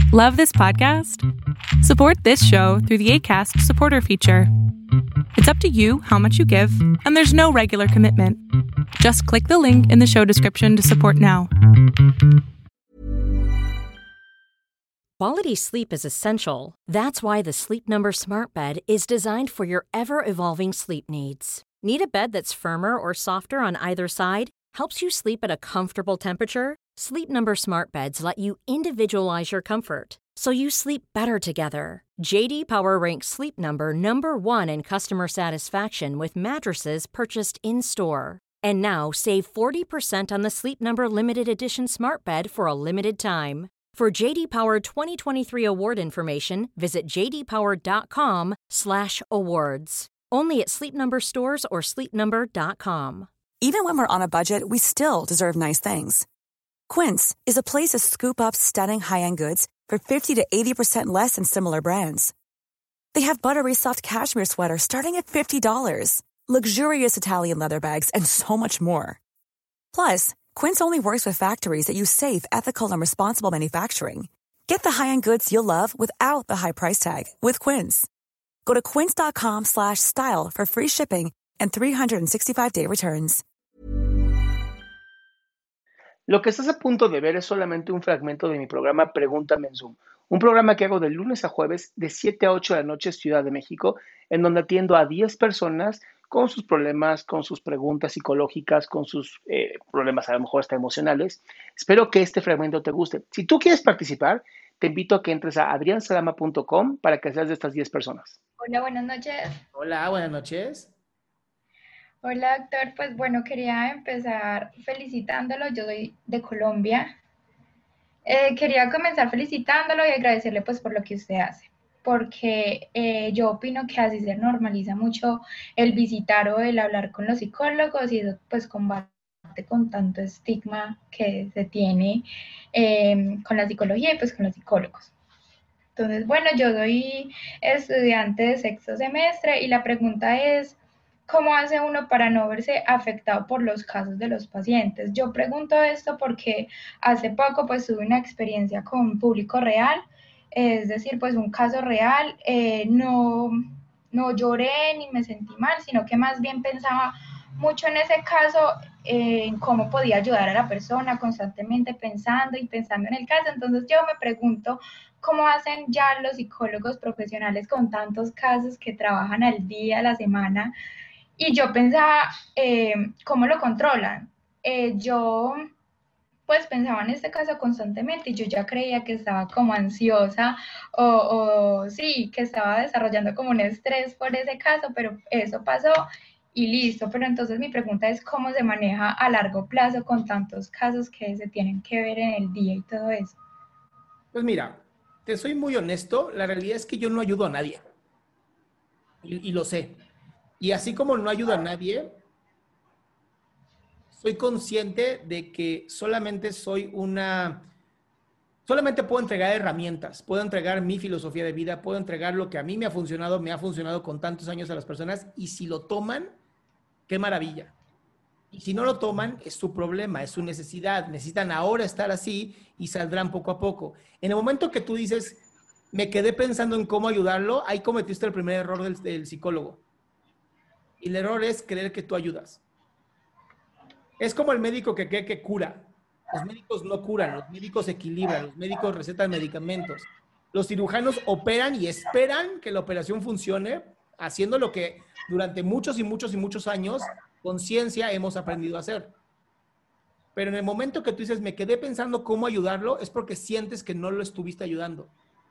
Love this podcast? Support this show through the Acast supporter feature. It's up to you how much you give, and there's no regular commitment. Just click the link in the show description to support now. Quality sleep is essential. That's why the Sleep Number Smart Bed is designed for your ever-evolving sleep needs. Need a bed that's firmer or softer on either side? Helps you sleep at a comfortable temperature? Sleep Number Smart Beds let you individualize your comfort, so you sleep better together. J.D. Power ranks Sleep Number number one in customer satisfaction with mattresses purchased in-store. And now, save 40% on the Sleep Number Limited Edition Smart Bed for a limited time. For J.D. Power 2023 award information, visit jdpower.com/awards. Only at Sleep Number stores or sleepnumber.com. Even when we're on a budget, we still deserve nice things. Quince is a place to scoop up stunning high-end goods for 50 to 80% less than similar brands. They have buttery soft cashmere sweaters starting at $50, luxurious Italian leather bags, and so much more. Plus, Quince only works with factories that use safe, ethical, and responsible manufacturing. Get the high-end goods you'll love without the high price tag with Quince. Go to quince.com/style for free shipping and 365-day returns. Lo que estás a punto de ver es solamente un fragmento de mi programa Pregúntame en Zoom, un programa que hago de lunes a jueves de 7 a 8 de la noche Ciudad de México, en donde atiendo a 10 personas con sus problemas, con sus preguntas psicológicas, con sus problemas a lo mejor hasta emocionales. Espero que este fragmento te guste. Si tú quieres participar, te invito a que entres a adriansalama.com para que seas de estas 10 personas. Hola, buenas noches. Hola, buenas noches. Hola, doctor. Pues bueno, quería empezar felicitándolo. Yo soy de Colombia. Quería comenzar felicitándolo y agradecerle pues por lo que usted hace, porque yo opino que así se normaliza mucho el visitar o el hablar con los psicólogos, y eso pues combate con tanto estigma que se tiene con la psicología y pues con los psicólogos. Entonces, bueno, yo soy estudiante de sexto semestre y la pregunta es: ¿cómo hace uno para no verse afectado por los casos de los pacientes? Yo pregunto esto porque hace poco pues tuve una experiencia con público real, es decir, pues un caso real. No lloré ni me sentí mal, sino que más bien pensaba mucho en ese caso, en cómo podía ayudar a la persona, constantemente pensando y pensando en el caso. Entonces yo me pregunto, ¿cómo hacen ya los psicólogos profesionales con tantos casos que trabajan al día, a la semana? Y yo pensaba, ¿cómo lo controlan? Yo pues pensaba en este caso constantemente y yo ya creía que estaba como ansiosa o sí, que estaba desarrollando como un estrés por ese caso, pero eso pasó y listo. Pero entonces mi pregunta es: ¿cómo se maneja a largo plazo con tantos casos que se tienen que ver en el día y todo eso? Pues mira, te soy muy honesto, la realidad es que yo no ayudo a nadie y lo sé. Y así como no ayudo a nadie, soy consciente de que solamente puedo entregar herramientas, puedo entregar mi filosofía de vida, puedo entregar lo que a mí me ha funcionado con tantos años a las personas, y si lo toman, qué maravilla. Y si no lo toman, es su problema, es su necesidad. Necesitan ahora estar así y saldrán poco a poco. En el momento que tú dices, me quedé pensando en cómo ayudarlo, ahí cometiste el primer error del psicólogo. Y el error es creer que tú ayudas. Es como el médico que cree que cura. Los médicos no curan, los médicos equilibran, los médicos recetan medicamentos. Los cirujanos operan y esperan que la operación funcione, haciendo lo que durante muchos y muchos y muchos años con ciencia hemos aprendido a hacer. Pero en el momento que tú dices, me quedé pensando cómo ayudarlo, es porque sientes que no lo estuviste ayudando.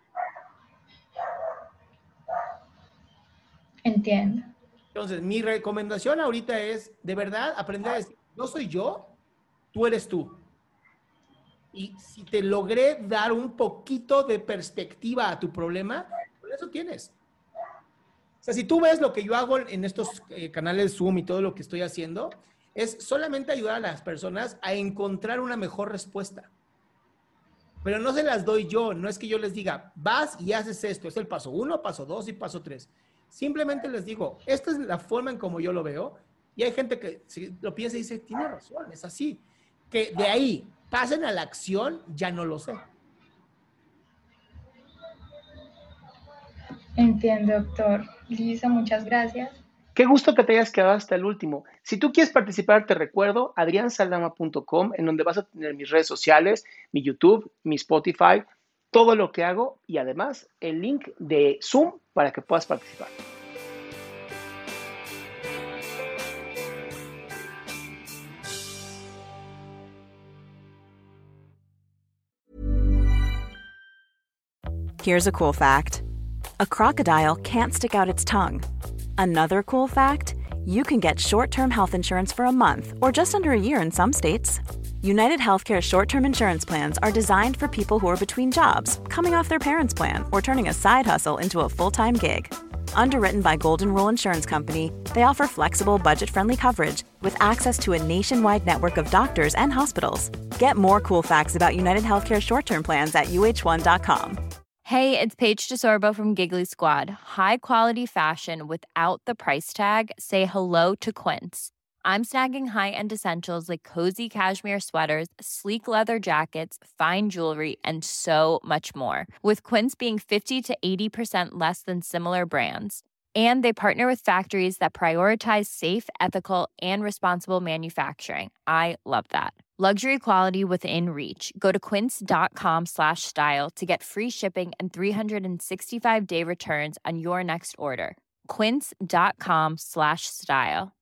Entiendo. Entonces, mi recomendación ahorita es, de verdad, aprender a decir, no soy yo, tú eres tú. Y si te logré dar un poquito de perspectiva a tu problema, por eso tienes. O sea, si tú ves lo que yo hago en estos canales Zoom y todo lo que estoy haciendo, es solamente ayudar a las personas a encontrar una mejor respuesta. Pero no se las doy yo, no es que yo les diga, vas y haces esto, es el paso 1, paso 2 y paso 3. Simplemente les digo, esta es la forma en como yo lo veo, y hay gente que si lo piensa y dice, tiene razón, es así. Que de ahí pasen a la acción, ya no lo sé. Entiendo, doctor. Listo, muchas gracias. Qué gusto que te hayas quedado hasta el último. Si tú quieres participar, te recuerdo adriansaldama.com, en donde vas a tener mis redes sociales, mi YouTube, mi Spotify, todo lo que hago y además el link de Zoom para que puedas participar. Here's a cool fact. A crocodile can't stick out its tongue. Another cool fact, you can get short-term health insurance for a month or just under a year in some states. United Healthcare short-term insurance plans are designed for people who are between jobs, coming off their parents' plan, or turning a side hustle into a full-time gig. Underwritten by Golden Rule Insurance Company, they offer flexible, budget-friendly coverage with access to a nationwide network of doctors and hospitals. Get more cool facts about United Healthcare short-term plans at uh1.com. Hey, it's Paige DeSorbo from Giggly Squad. High quality fashion without the price tag. Say hello to Quince. I'm snagging high-end essentials like cozy cashmere sweaters, sleek leather jackets, fine jewelry, and so much more. With Quince being 50 to 80% less than similar brands. And they partner with factories that prioritize safe, ethical, and responsible manufacturing. I love that. Luxury quality within reach. Go to quince.com/style to get free shipping and 365-day returns on your next order. Quince.com/style.